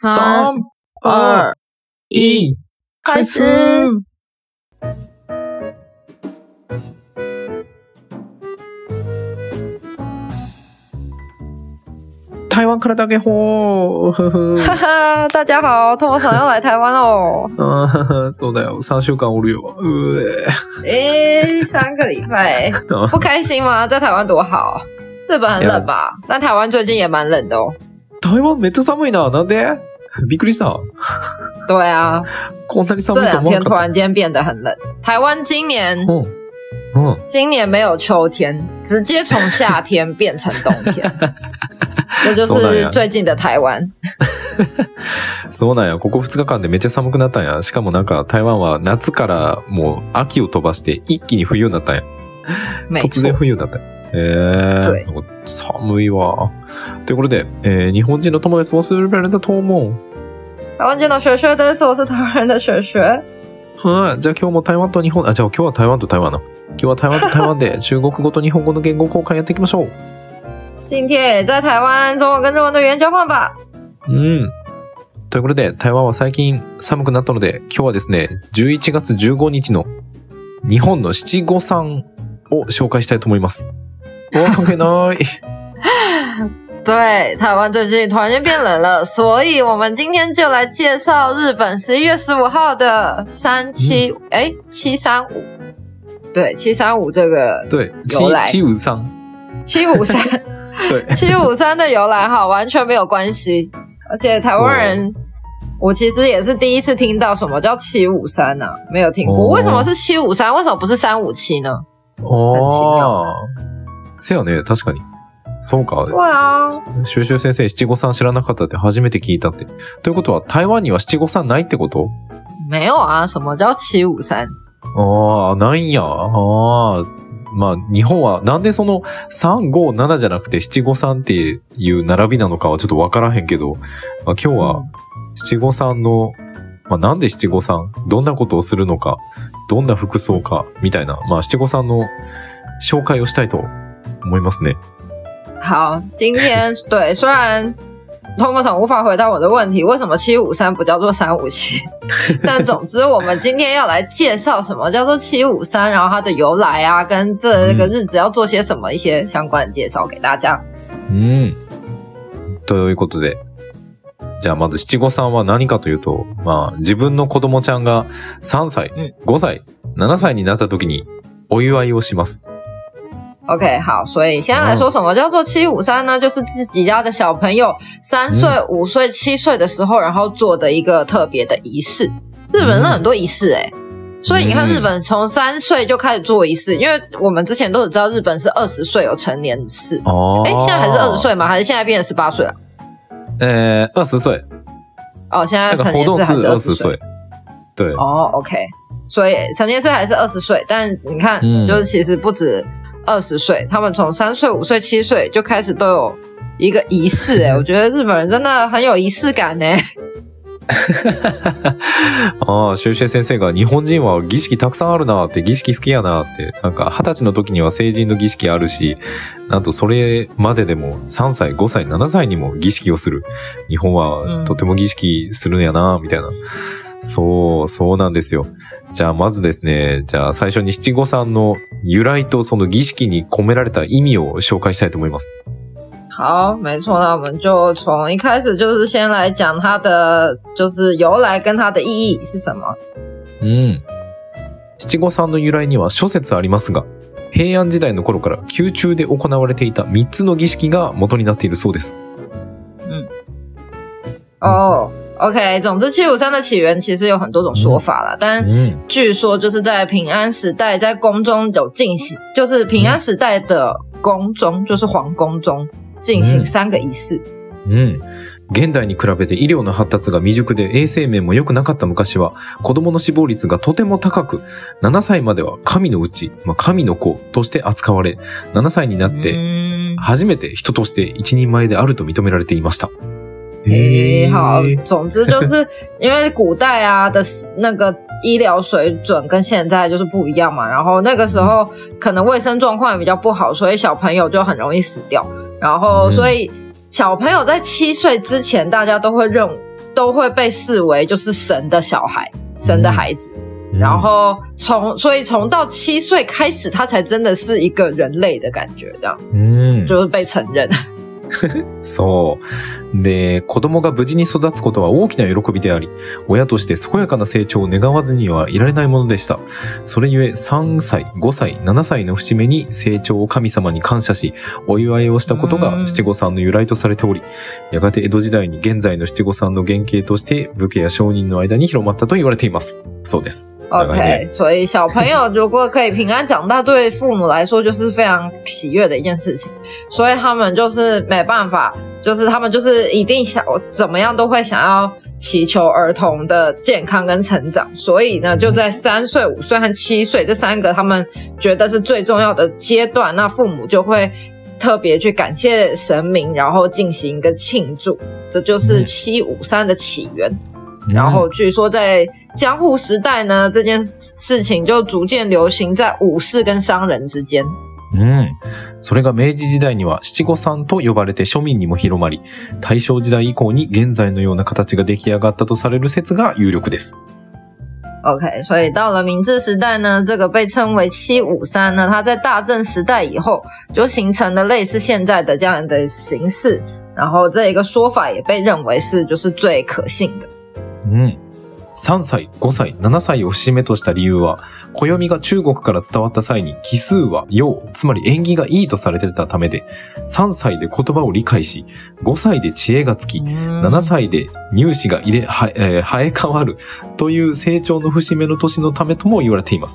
3、2、1，开始。台湾からだけほー。 哈哈，大家好，托马要来台湾哦。 そうだよ，3週間おるよ。 3个礼拜，不开心吗？在台湾多好，日本很冷吧？但台湾最近也蛮冷的哦。 台湾めっちゃ寒いな，なんで？びっくりした。 对啊， こんなに寒这2 いと思わ天突なかった。 然间变得很冷。台湾今年今年没有秋天，直接从夏天变成冬天。这就是最近的台湾。 そうなんや。ここ2日間でめっちゃ寒くなったんや。しかもなんか台湾は夏からもう秋を飛ばして一気に冬になったんや。突然冬になったんや。 对。 なんか寒いわ。ということで、日本人の友達をするべるんだと思う。 台湾见到学学です。我是台湾人的学学。 はい。じゃあ今日も台湾と日本、じゃあ今日は台湾と台湾な。今日は台湾と台湾で中国語と日本語の言語交換やっていきましょう。 今天也在台湾中文跟日文的语言交换吧。 ということで、台湾は最近寒くなったので、今日はですね、11月15日の日本の七五三を紹介したいと思います。関係ない。 对，台湾最近突然间变冷了，所以我们今天就来介绍日本11月15号的735。对，735这个由来。 753。 753。对，753的由来哈，完全没有关系。而且台湾人，我其实也是第一次听到什么叫753啊，没有听过。为什么是753？为什么不是357呢？很奇妙。 せやね、確かに。そうか。 对啊。 シュシュ先生、753知らなかったって初めて聞いたって。ということは、台湾には753ないってこと？ 没有啊，什么叫753？ ないんや。まあ、日本はなんでその357じゃなくて753っていう並びなのかはちょっとわからへんけど、まあ、今日は753の、まあ、なんで753、どんなことをするのか、どんな服装か、みたいな、まあ、753の紹介をしたいと思いますね。 好，今天对，虽然Thomas无法回答我的问题，为什么753不叫做357？但总之，我们今天要来介绍什么叫做753，然后它的由来啊，跟这个日子要做些什么一些相关的介紹给大家。 ということで、じゃあまず七五三は何かというと、まあ自分の子供ちゃんが3歳、5歳、7歳になった時にお祝いをします。 OK， 好，所以现在来说什么叫做753呢？就是自己家的小朋友3岁、5岁、7岁的时候，然后做的一个特别的仪式。日本人很多仪式所以你看日本从3岁就开始做仪式，因为我们之前都只知道日本是20岁有成年式。现在还是20岁吗？还是现在变成18岁了 ？20岁。 现在成年式还是20岁。 对。 OK， 所以成年式还是20岁，但你看，就是其实不止20岁，他们从3岁、5岁、7岁就开始都有一个仪式我觉得日本人真的很有仪式感シュウシェ先生が日本人は儀式たくさんあるなって、儀式好きやなって、なんか20歳の時には成人の儀式あるし、なんとそれまででも3歳、5歳、7歳にも儀式をする。日本はとても儀式するんやなみたいな。そうなんですよ。じゃあまずですね、じゃあ最初に七五三の由来とその儀式に込められた意味を紹介したいと思います。 好，没错，那我们就从一开始就是先来讲它的就是由来跟它的意义是什么。 七五三の由来には諸説ありますが、平安時代の頃から宮中で行われていた3つの儀式が元になっているそうです。 OK， 总之753的起源其实有很多种说法啦，但据说就是在平安时代在宫中有进行，就是平安时代的宫中，就是皇宫中进行3个儀式。 現代に比べて医療の発達が未熟で衛生面も良くなかった昔は子供の死亡率がとても高く、7歳までは神のうち、神の子として扱われ、7歳になって初めて人として一人前であると認められていました。 好，总之就是因为古代的那个医疗水准跟现在就是不一样嘛，然后那个时候可能卫生状况也比较不好，所以小朋友就很容易死掉，然后所以小朋友在7岁之前大家都会认都会被视为就是神的小孩，神的孩子。然后所以从到7岁开始，他才真的是一个人类的感觉，这样，就是被承认。 そう。で、子供が無事に育つことは大きな喜びであり、親として健やかな成長を願わずにはいられないものでした。それゆえ3歳、5歳、7歳の節目に成長を神様に感謝し、お祝いをしたことが七五三の由来とされており、やがて江戸時代に現在の七五三の原型として武家や商人の間に広まったと言われています。そうです。 OK， 所以小朋友如果可以平安长大，对父母来说就是非常喜悦的一件事情，所以他们就是没办法，就是他们就是一定想怎么样都会想要祈求儿童的健康跟成长，所以呢就在3岁、5岁和7岁这3个他们觉得是最重要的阶段，那父母就会特别去感谢神明，然后进行一个庆祝，这就是753的起源。然后据说在江户时代呢，这件事情就逐渐流行在武士跟商人之间。 それが明治時代には七五三と呼ばれて庶民にも広まり、大正時代以降に現在のような形が出来上がったとされる説が有力です。 OK， 所以到了明治时代呢，这个被称为753呢，它在大正时代以后就形成了类似现在的这样的形式，然后这一个说法也被认为是就是最可信的。 3歳、5歳、7歳を節目とした理由は、暦が中国から伝わった際に奇数は陽、つまり縁起がいいとされてたためで、3歳で言葉を理解し、5歳で知恵がつき、7歳で乳歯が生え変わるという成長の節目の年のためとも言われています。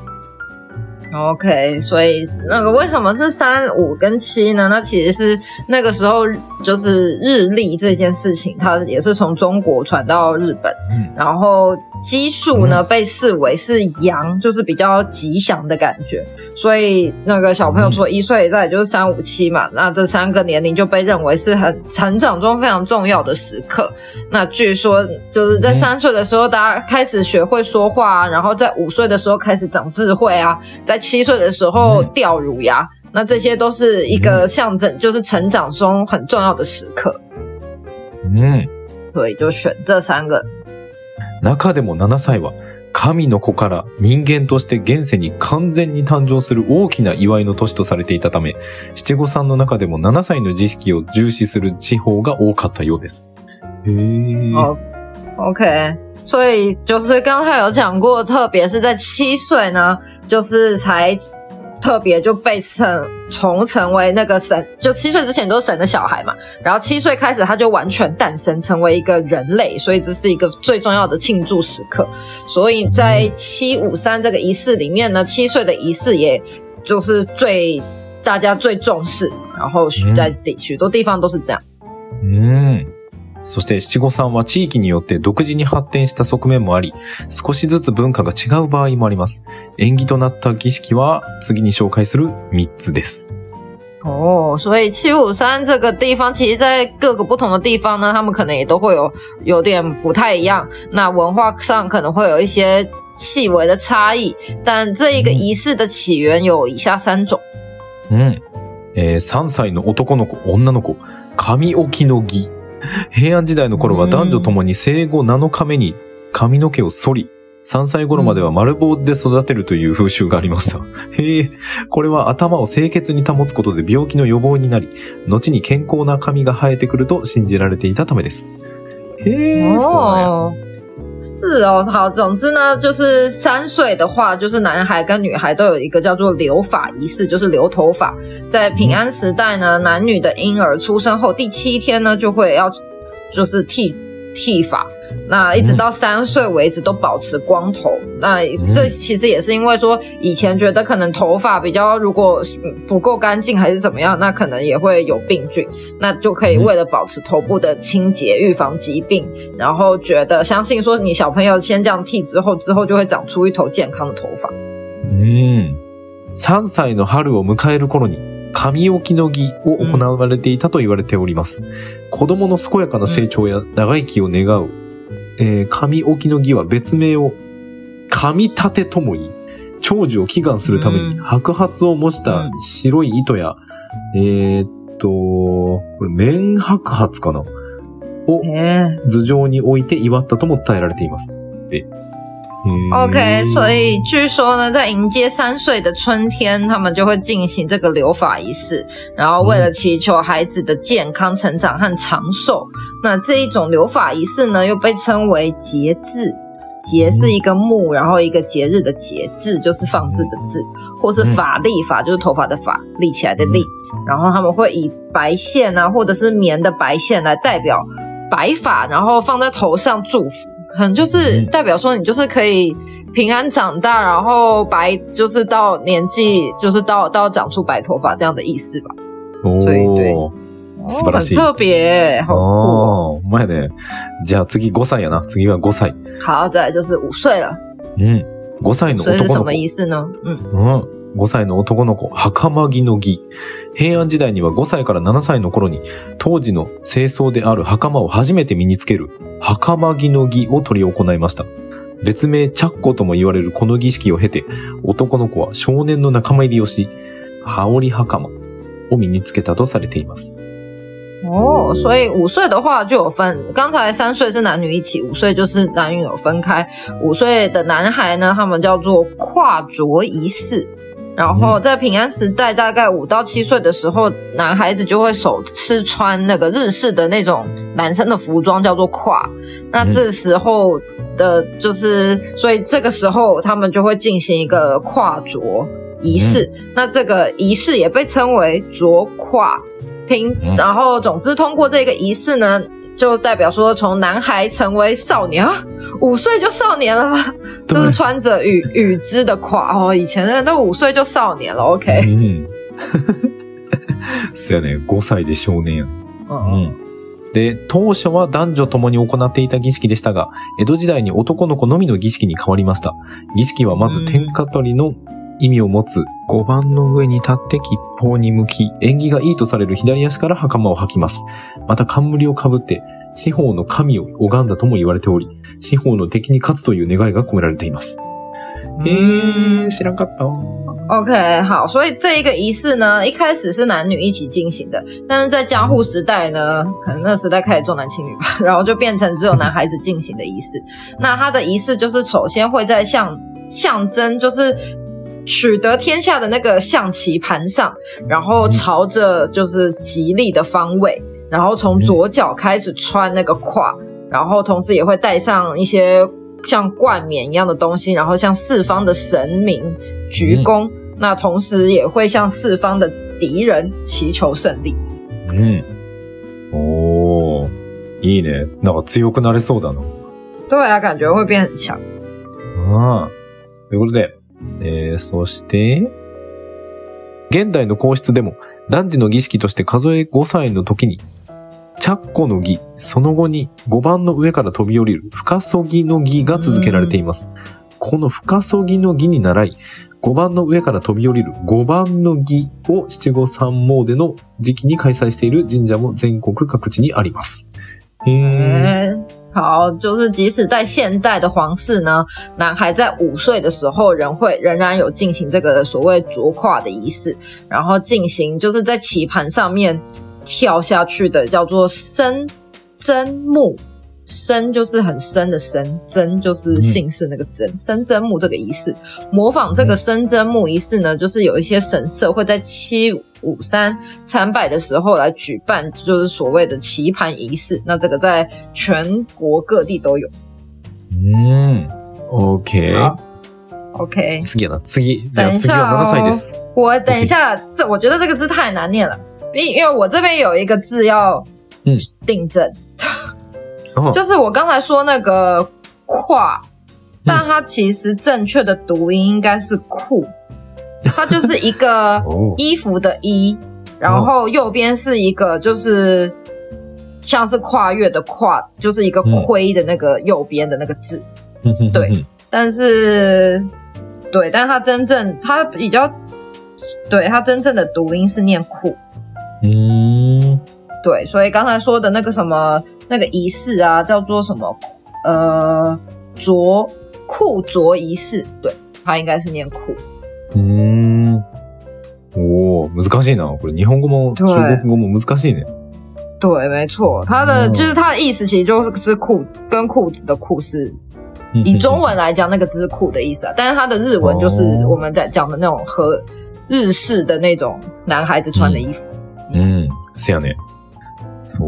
OK， 所以那个为什么是3、5跟7呢？那其实是那个时候就是日历这件事情，它也是从中国传到日本，然后奇数呢被视为是阳，就是比较吉祥的感觉，所以那个小朋友除了1岁，再就是3、5、7嘛，那这3个年龄就被认为是很成长中非常重要的时刻。那据说就是在3岁的时候，大家开始学会说话啊，然后在5岁的时候开始长智慧啊，在7岁的时候掉乳牙，那这些都是一个象征，就是成长中很重要的时刻。所以就选这3个。 中でも7歳は神の子から人間として現世に完全に誕生する大きな祝いの年とされていたため、七五三の中でも7歳の儀式を重視する地方が多かったようです。 OK， 所以就是刚才有讲过，特别是在7岁呢，就是才特别就被重成为那个神，就7岁之前都是神的小孩嘛，然后7岁开始他就完全诞生成为一个人类，所以这是一个最重要的庆祝时刻。所以在753这个仪式里面呢，7岁的仪式也就是大家最重视，然后在许多地方都是这样。 そして七五三は地域によって独自に発展した側面もあり、少しずつ文化が違う場合もあります。縁起となった儀式は次に紹介する3つです。 所以753这个地方，其实在各个不同的地方呢，他们可能也都会有点不太一样。那文化上可能会有一些细微的差异，但这一个仪式的起源有以下3种。 3歳の男の子、女の子、髪置きの儀。平安時代の頃は男女ともに生後7日目に髪の毛を剃り、3歳頃までは丸坊主で育てるという風習がありました。これは頭を清潔に保つことで病気の予防になり、後に健康な髪が生えてくると信じられていたためです。 是哦，好，总之呢，就是3岁的话，就是男孩跟女孩都有一个叫做留发仪式，就是留头发。在平安时代呢，男女的婴儿出生后第7天呢，就会就是剃发，那一直到3岁为止都保持光头。那这其实也是因为说以前觉得可能头发比较如果不够干净还是怎么样，那可能也会有病菌，那就可以为了保持头部的清洁预防疾病，然后相信说你小朋友先这样剃之后就会长出一头健康的头发。 3歳の春を迎える頃に髪置きの儀を行われていたと言われております。子供の健やかな成長や長生きを願う、髪置きの儀は別名を髪立てとも言い、長寿を祈願するために白髪を模した白い糸や、これ綿白髪かなを頭上に置いて祝ったとも伝えられています。で。 OK， 所以据说呢，在迎接3岁的春天，他们就会进行这个留法仪式，然后为了祈求孩子的健康成长和长寿。那这一种留法仪式呢，又被称为节制。节是一个木，然后一个节日的节，制就是放置的制，或是法力，法就是头发的发，立起来的立。然后他们会以白线啊，或者是棉的白线来代表白发，然后放在头上祝福。可能就是代表说你就是可以平安长大，然后白就是到年纪就是到长出白头发这样的意思吧。所以对， 素晴らしい。 很特别，好酷哦。前ね。じゃあ次5歳やな。次は5歳。 好，再来就是5岁了。 5歳の男の子。 这是什么仪式呢 ？5歳の男の子、袴着の儀。平安時代には5歳から7歳の頃に、当時の正装である袴を初めて身につける、袴着の儀を執り行いました。別名、チャッコとも言われるこの儀式を経て、男の子は少年の仲間入りをし、羽織袴を身につけたとされています。 哦，所以5岁的话就有分，刚才3岁是男女一起，5岁就是男女有分开。5岁的男孩呢，他们叫做跨着仪式。然后在平安时代，大概5到7岁的时候，男孩子就会首次穿那个日式的那种男生的服装，叫做跨。那这时候的就是，所以这个时候他们就会进行一个跨着仪式。那这个仪式也被称为着跨。然后总之通过这个仪式呢，就代表说从男孩成为少年啊，5岁就少年了吗？就是穿着羽织的褂哦，以前的人都5岁就少年了 ，OK。 そうやね、5歳で少年や。で、当初は男女共に行っていた儀式でしたが、江戸時代に男の子のみの儀式に変わりました。儀式はまず天下取りの意味を持つ5番の上に立って吉報に向き、縁起がいいとされる左足から袴を履きます。また冠をかぶって、四方の神を拝んだとも言われており、四方の敵に勝つという願いが込められています。知らんかった。 OK， 好，所以这一个仪式呢，一开始是男女一起进行的，但是在江户时代呢，可能那时代开始重男轻女吧，然后就变成只有男孩子进行的仪式。那他的仪式就是首先会在象征就是取得天下的那个象棋盘上，然后朝着就是吉利的方位，然后从左脚开始穿那个褂，然后同时也会带上一些像冠冕一样的东西，然后向四方的神明鞠躬，那同时也会向四方的敌人祈求胜利。 おー、いいね。なんか強くなれそうだな。 对啊，感觉会变很强。 ということで、そして、現代の皇室でも男児の儀式として数え5歳の時に、チャッコの儀、その後に5番の上から飛び降りる深そぎの儀が続けられています。この深そぎの儀に倣い、5番の上から飛び降りる5番の儀を七五三詣の時期に開催している神社も全国各地にあります。 好，就是即使在现代的皇室呢，男孩在5岁的时候仍然有进行这个所谓着褂的仪式，然后进行就是在棋盘上面跳下去的叫做深真木，深就是很深的深，真就是姓氏那个真，深真木这个仪式，模仿这个深真木仪式呢，就是有一些神社会在753参拜的时候来举办，就是所谓的棋盘仪式。那这个在全国各地都有。 OK。 OK。 次やな、次。じゃあ次は7歳です。 我等一下，我觉得这个字太难念了，因为我这边有一个字要订正。就是我刚才说那个褂，但它其实正确的读音应该是裤，它就是一个衣服的衣，然后右边是一个就是像是跨越的跨，就是一个盔的那个右边的那个字，对，但它真正它比较，对，它真正的读音是念裤。对，所以刚才说的那个什么那个仪式啊，叫做什么裤着仪式，对，它应该是念裤。 おー、難しいな。これ日本語も中国語も難しいね。 对，没错，它的就是它的意思，其实就是裤跟裤子的裤是，以中文来讲，那个字是裤的意思啊。但是它的日文就是我们在讲的那种和日式的那种男孩子穿的衣服。 せやね。そう、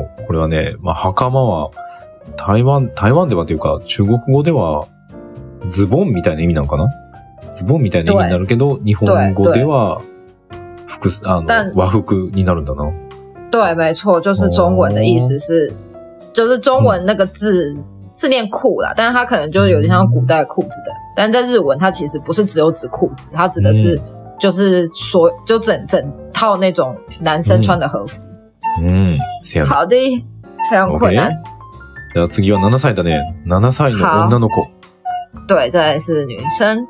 これはね、まあ袴は台湾ではというか中国語ではズボンみたいな意味なのかな？ズボンみたいな意味になるけど、日本語では和服になるんだな。 对，没错，就是中文的意思是，就是中文那个字是念裤啦，但是它可能就是有点像古代裤子的，但在日文它其实不是只有指裤子，它指的是就是就整套那种男生穿的和服。好的，非常困难。 じゃあ次は7歳だね。7歳の女の子。 对，再来是女生。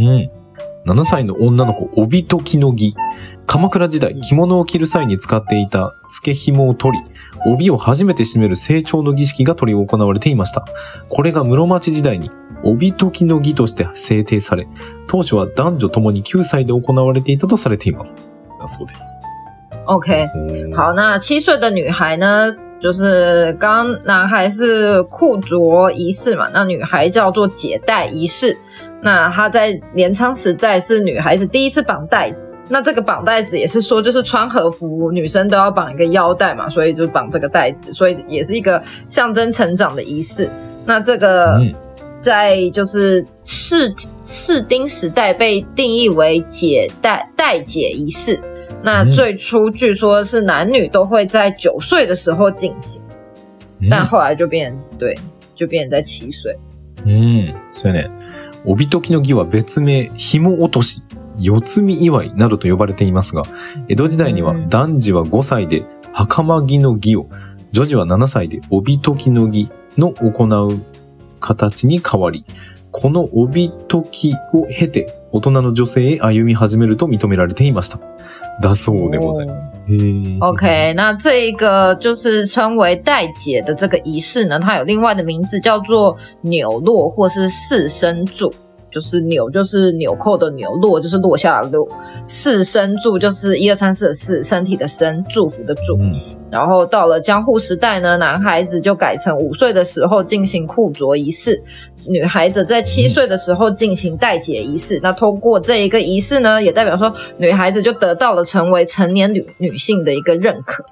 7歳の女の子、帯解きの儀。鎌倉時代、着物を着る際に使っていた付け紐を取り、帯を初めて締める成長の儀式が執り行われていました。これが室町時代に帯解きの儀として制定され、当初は男女ともに9歳で行われていたとされています。だそうです。 OK，好，那7岁的女孩呢，就是刚男孩是裤着仪式嘛，那女孩叫做解带仪式。那她在镰仓时代是女孩子第一次绑带子，那这个绑带子也是说就是穿和服女生都要绑一个腰带嘛，所以就绑这个带子，所以也是一个象征成长的仪式。那这个在就是士丁时代被定义为带解仪式，那最初据说是男女都会在9岁的时候进行，但后来就变成在7岁。 そうやね。帯解きの儀は別名、紐落とし、四つ見祝いなどと呼ばれていますが、江戸時代には男児は5歳で袴着の儀を、女児は7歳で帯解きの儀の行う形に変わり、この帯解きを経て大人の女性へ歩み始めると認められていました。だそうでございます。 OK， 那这一个就是称为带解的这个仪式呢，它有另外的名字叫做纽落或是四身祝。就是纽就是纽扣的纽，落就是落下的落，四身祝就是1、2、3、4的4，身体的身，祝福的祝。然后到了江户时代呢，男孩子就改成5岁的时候进行裤着仪式，女孩子在7岁的时候进行带解仪式。那通过这一个仪式呢，也代表说女孩子就得到了成为成年女性的一个认可。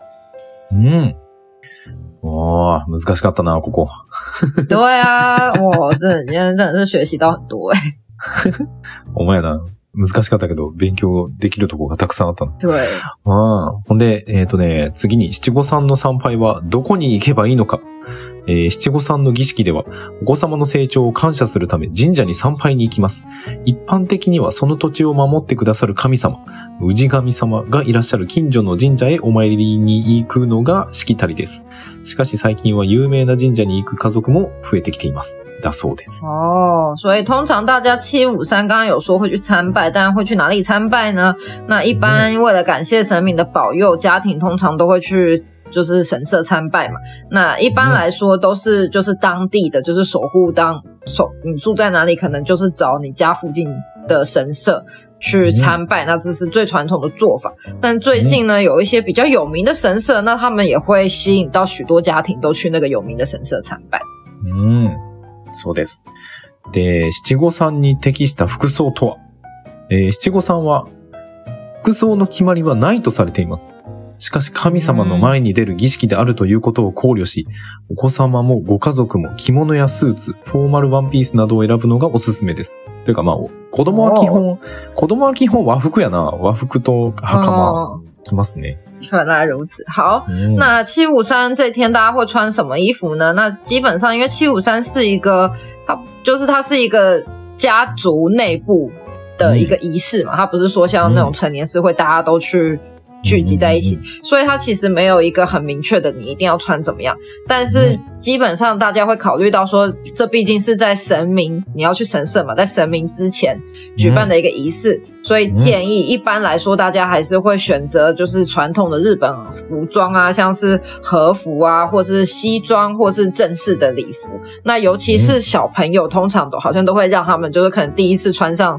哇，難しかったな、ここ。 对啊，哇，今天真的是学习到很多お前な。難しかったけど、勉強できるとこがたくさんあったの。 对。 ほんで、次に七五三の参拝はどこに行けばいいのか。七五三の儀式では、お子様の成長を感謝するため神社に参拝に行きます。一般的にはその土地を守ってくださる神様、氏神様がいらっしゃる近所の神社へお参りに行くのがしきたりです。しかし最近は有名な神社に行く家族も増えてきています。だそうです。 所以通常大家753刚刚有说会去参拜，但会去哪里参拜呢？那一般为了感谢神明的保佑，家庭通常都会去就是神社参拜嘛。那一般来说都是就是当地的就是守护你住在哪里，可能就是找你家附近的神社去参拜，那这是最传统的做法。但最近呢，有一些比较有名的神社，那他们也会吸引到许多家庭都去那个有名的神社参拜。 そうです。で、七五三に適した服装とは、七五三は服装の決まりはないとされています。しかし神様の前に出る儀式であるということを考慮し、お子様もご家族も着物やスーツ、フォーマルワンピースなどを選ぶのがおすすめです。というかまあ、子供は基本和服やな。和服と袴着ますね。 原来如此。好，那753这天大家会穿什么衣服呢？那基本上因为753是一个，它是一个家族内部的一个仪式嘛，它不是说像那种成年式会大家都去聚集在一起，所以它其实没有一个很明确的你一定要穿怎么样，但是基本上大家会考虑到说这毕竟是在神明，你要去神社嘛，在神明之前举办的一个仪式，所以建议一般来说大家还是会选择就是传统的日本服装啊，像是和服啊，或是西装，或是正式的礼服。那尤其是小朋友通常好像都会让他们就是可能第一次穿上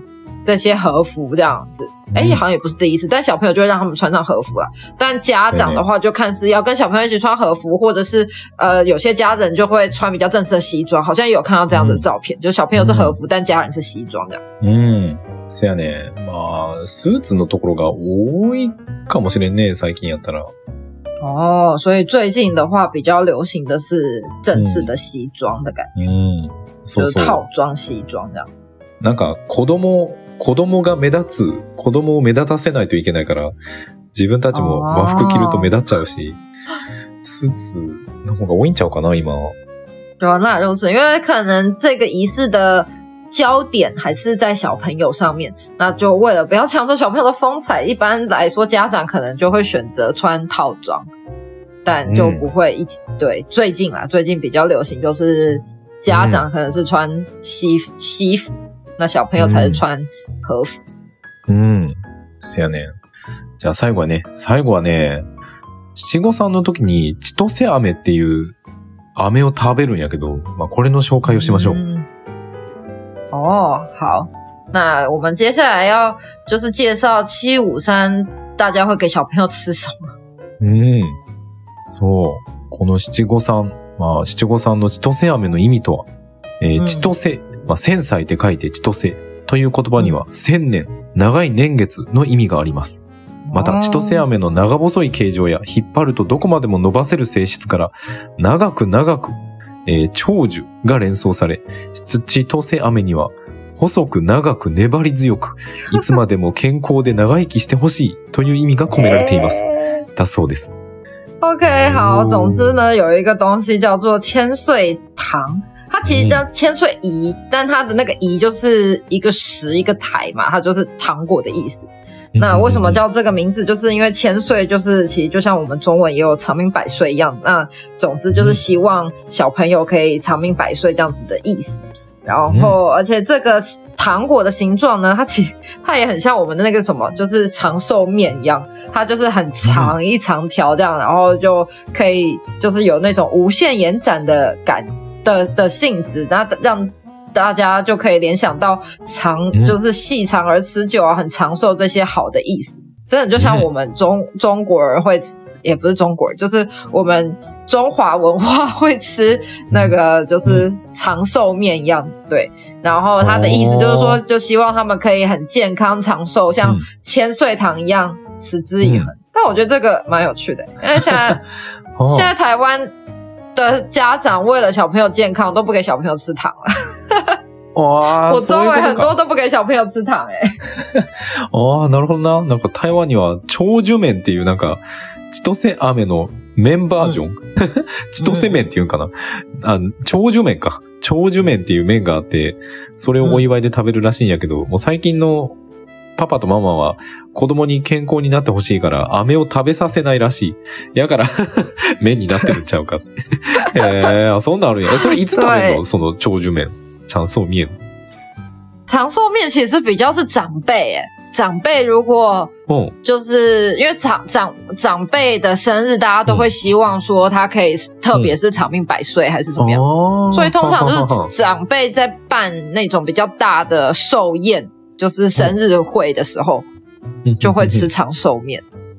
这些和服这样子。好像也不是第一次，但小朋友就会让他们穿上和服啦。但家长的话就看是要跟小朋友一起穿和服，或者是有些家人就会穿比较正式的西装，好像也有看到这样的照片，就是小朋友是和服，但家人是西装这样。 せやね。まあスーツのところが多いかもしれんね、最近やったら。 所以最近的话比较流行的是正式的西装的感觉。 そうそう。 就是套装西装这样。 なんか子供が目立つ、子供を目立たせないといけないから、自分たちも和服着ると目立っちゃうし、スーツの方が多いんちゃうかな、今。 对啊，那如此，因为可能这个仪式的焦点还是在小朋友上面，那就为了不要抢走小朋友的风采，一般来说家长可能就会选择穿套装，但就不会一起。对，最近比较流行就是家长可能是穿西服。那小朋友才是穿和服。 せやね。じゃあ最後はね、七五三の時に千歳飴っていう飴を食べるんやけど、まあこれの紹介をしましょう。 好。那我们接下来要就是介绍753大家会给小朋友吃什么。 そう。この七五三の千歳飴の意味とは、千歳、千歳って書いて千歳という言葉には1000年、長い年月の意味があります。また、千歳飴の長細い形状や引っ張るとどこまでも伸ばせる性質から、長く、長寿が連想され、千歳飴には細く長く粘り強く、いつまでも健康で長生きしてほしいという意味が込められています。だそうです。 OK， 好，总之呢，有一个东西叫做千岁糖。它其实叫千岁饴，但它的那个饴就是一个石一个台嘛，它就是糖果的意思。那为什么叫这个名字？就是因为千岁就是其实就像我们中文也有长命百岁一样，那总之就是希望小朋友可以长命百岁这样子的意思。然后而且这个糖果的形状呢，它也很像我们的那个什么，就是长寿面一样，它就是很长一长条这样，然后就可以就是有那种无限延展的的性质，那让大家就可以联想到就是细长而持久啊，很长寿这些好的意思。真的就像我们中国人会吃，也不是中国人，就是我们中华文化会吃那个就是长寿面一样，对。然后它的意思就是说，就希望他们可以很健康长寿，像千岁糖一样持之以恒。但我觉得这个蛮有趣的，因为现在台湾的家长为了小朋友健康都不给小朋友吃糖了。 哇， 我周围很多都不给小朋友吃糖なるほどな。なんか台湾には長寿麺っていうなんか千歳飴の麺バージョン、千歳麺っていうんかな。長寿麺か。長寿麺っていう麺があって、それをお祝いで食べるらしいんやけど、もう最近のパパとママは子供に健康になってほしいから飴を食べさせないらしい。やから麺になってるんちゃうかって。そんなんあるんや。それいつ食べるの？その長寿麺。长寿面其实比较是长辈长辈如果就是因为长辈的生日，大家都会希望说他可以特别是长命百岁还是怎么样，所以通常就是长辈在办那种比较大的寿宴，就是生日会的时候就会吃长寿面。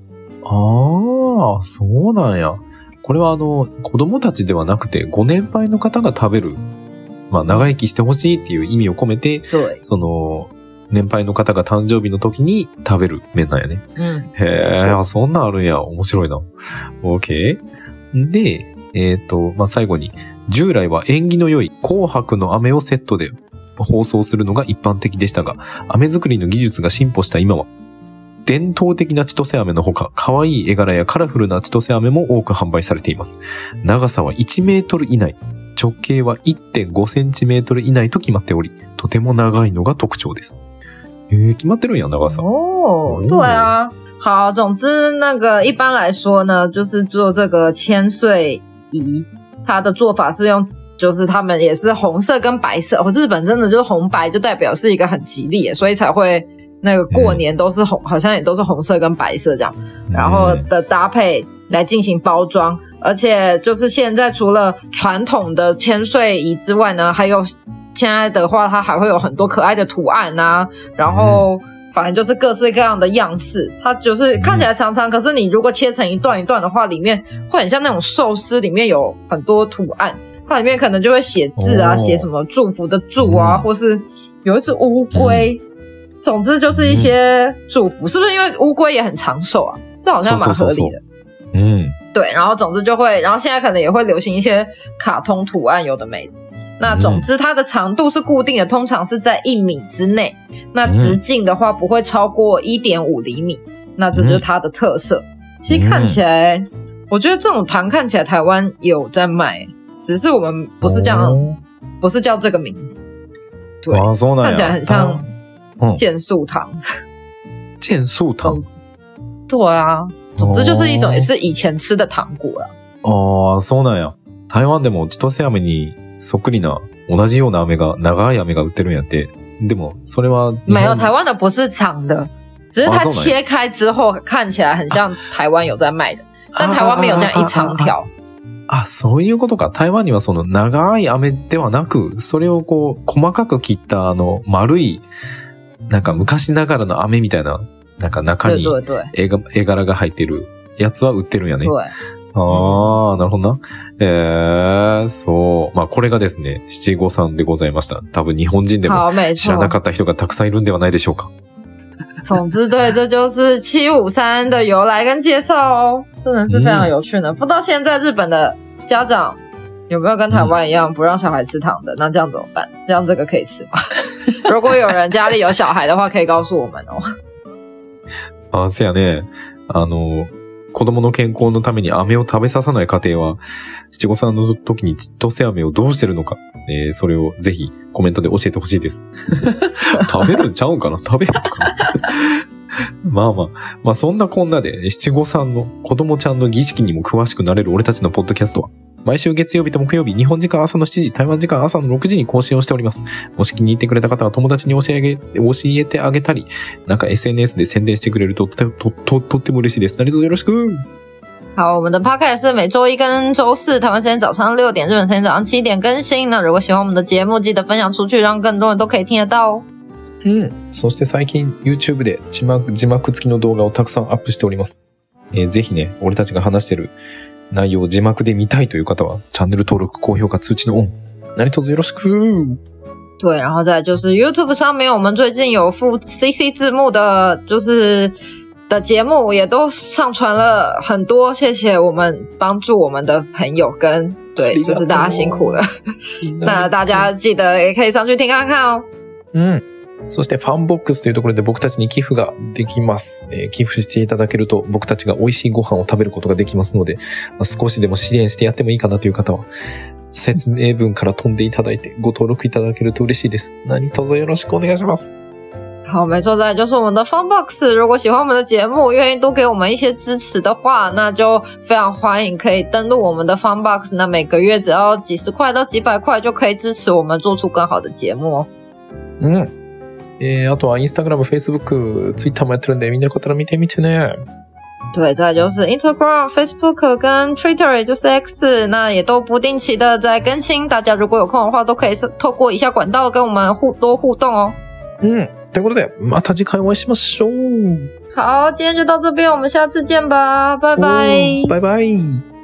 そうなんや。これは子供たちではなくてご年配の方が食べる、長生きしてほしいっていう意味を込めて、その年配の方が誕生日の時に食べる麺なんやね。へえ、そんなんあるんや。面白いな。OK。で、最後に、従来は縁起の良い紅白の飴をセットで包装するのが一般的でしたが、飴作りの技術が進歩した今は、伝統的な千歳飴のほか、可愛い絵柄やカラフルな千歳飴も多く販売されています。長さは1メートル以内。直径は 1.5 センチメートル以内と決まっており、とても長いのが特徴です。決まってるんや、長さ。 对啊。好，总之那个一般来说呢，就是做这个千岁饴，它的做法是用，就是他们也是红色跟白色，日本真的就是红白就代表是一个很吉利，所以才会那个过年都是红，好像也都是红色跟白色这样，然后的搭配来进行包装。而且就是现在除了传统的千岁饴之外呢，还有现在的话它还会有很多可爱的图案啊，然后反正就是各式各样的样式，它就是看起来长长，可是你如果切成一段一段的话，里面会很像那种寿司，里面有很多图案，它里面可能就会写字啊，写什么祝福的祝啊，或是有一只乌龟，总之就是一些祝福，是不是因为乌龟也很长寿啊？这好像蛮合理的。对，然后总之就会，然后现在可能也会流行一些卡通图案，有的没的。那总之它的长度是固定的，通常是在1米之内，那直径的话不会超过 1.5 厘米，那这就是它的特色。其实看起来我觉得这种糖看起来台湾有在卖，只是我们不是这样，不是叫这个名字。对，看起来很像健素糖。 健素糖？ 对啊，总之就是一种也是以前吃的糖果啦。 そうなんや。台湾でも千歳飴にそっくりな同じような飴が長い飴が売ってるんやって。でもそれは没有，台湾的不是长的，只是它切开之后看起来很像台湾有在卖的，但台湾没有这样一长条。 そういうことか。台湾にはその長い飴ではなく、それをこう細かく切った丸いなんか昔ながらの飴みたいな、なんか中に絵柄が入ってるやつは売ってるんやね。なるほどな。そう。まあこれがですね、七五三でございました。多分日本人でも知らなかった人がたくさんいるんではないでしょうか。 总之，对，这就是753的由来跟介绍哦，真的是非常有趣的。不知道现在日本的家长有没有跟台湾一样不让小孩吃糖的？那这样怎么办？这样这个可以吃吗？如果有人家里有小孩的话，可以告诉我们哦。 そうやね。子供の健康のために飴を食べささない家庭は、七五三の時に千歳飴をどうしてるのか、それをぜひコメントで教えてほしいです。食べるんちゃうんかな？食べるのかな？まあそんなこんなで、七五三の子供ちゃんの儀式にも詳しくなれる俺たちのポッドキャストは、毎週月曜日と木曜日、日本時間朝の7時、台湾時間朝の6時に更新をしております。もし気に入ってくれた方は友達に教えてあげたり、なんか SNS で宣伝してくれるととっても嬉しいです。何卒よろしく。 好，我们的 podcast 是每周一跟周四台湾时间早上6点，日本时间早上7点更新。那如果喜欢我们的节目，记得分享出去，让更多人都可以听得到哦。 そして最近 YouTube で字幕付きの動画をたくさんアップしております。ぜひね、俺たちが話してる内容を字幕で見たいという方は、チャンネル登録、高評価、通知のオン。何卒よろしく。 对，然后再来就是 YouTube 上面，我们最近有附 CC 字幕的，就是的节目也都上传了很多，谢谢我们帮助我们的朋友跟对，就是大家辛苦了。那大家记得也可以上去听看看哦。 そしてファンボックスというところで僕たちに寄付ができます。寄付していただけると僕たちが美味しいご飯を食べることができますので、少しでも支援してやってもいいかなという方は、説明文から飛んでいただいてご登録いただけると嬉しいです。何卒よろしくお願いします。 好，没错，再来就是我们的 Funbox。如果喜欢我们的节目，愿意多给我们一些支持的话，那就非常欢迎可以登录我们的 Funbox。那每个月只要几十块到几百块就可以支持我们做出更好的节目哦。 あとは Instagram、Facebook、Twitter もやってるんで、みんなよかったら見てみてね。 对，再来就是 Instagram、Facebook 跟 Twitter， 也就是 X， 那也都不定期的在更新。大家如果有空的话，都可以透过以下管道跟我们多互动哦。 ということで、また次回お会いしましょう。 好，今天就到这边，我们下次见吧，拜拜。 拜拜。